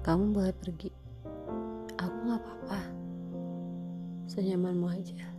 Kamu boleh pergi. Aku gak apa-apa. Senyamanmu aja.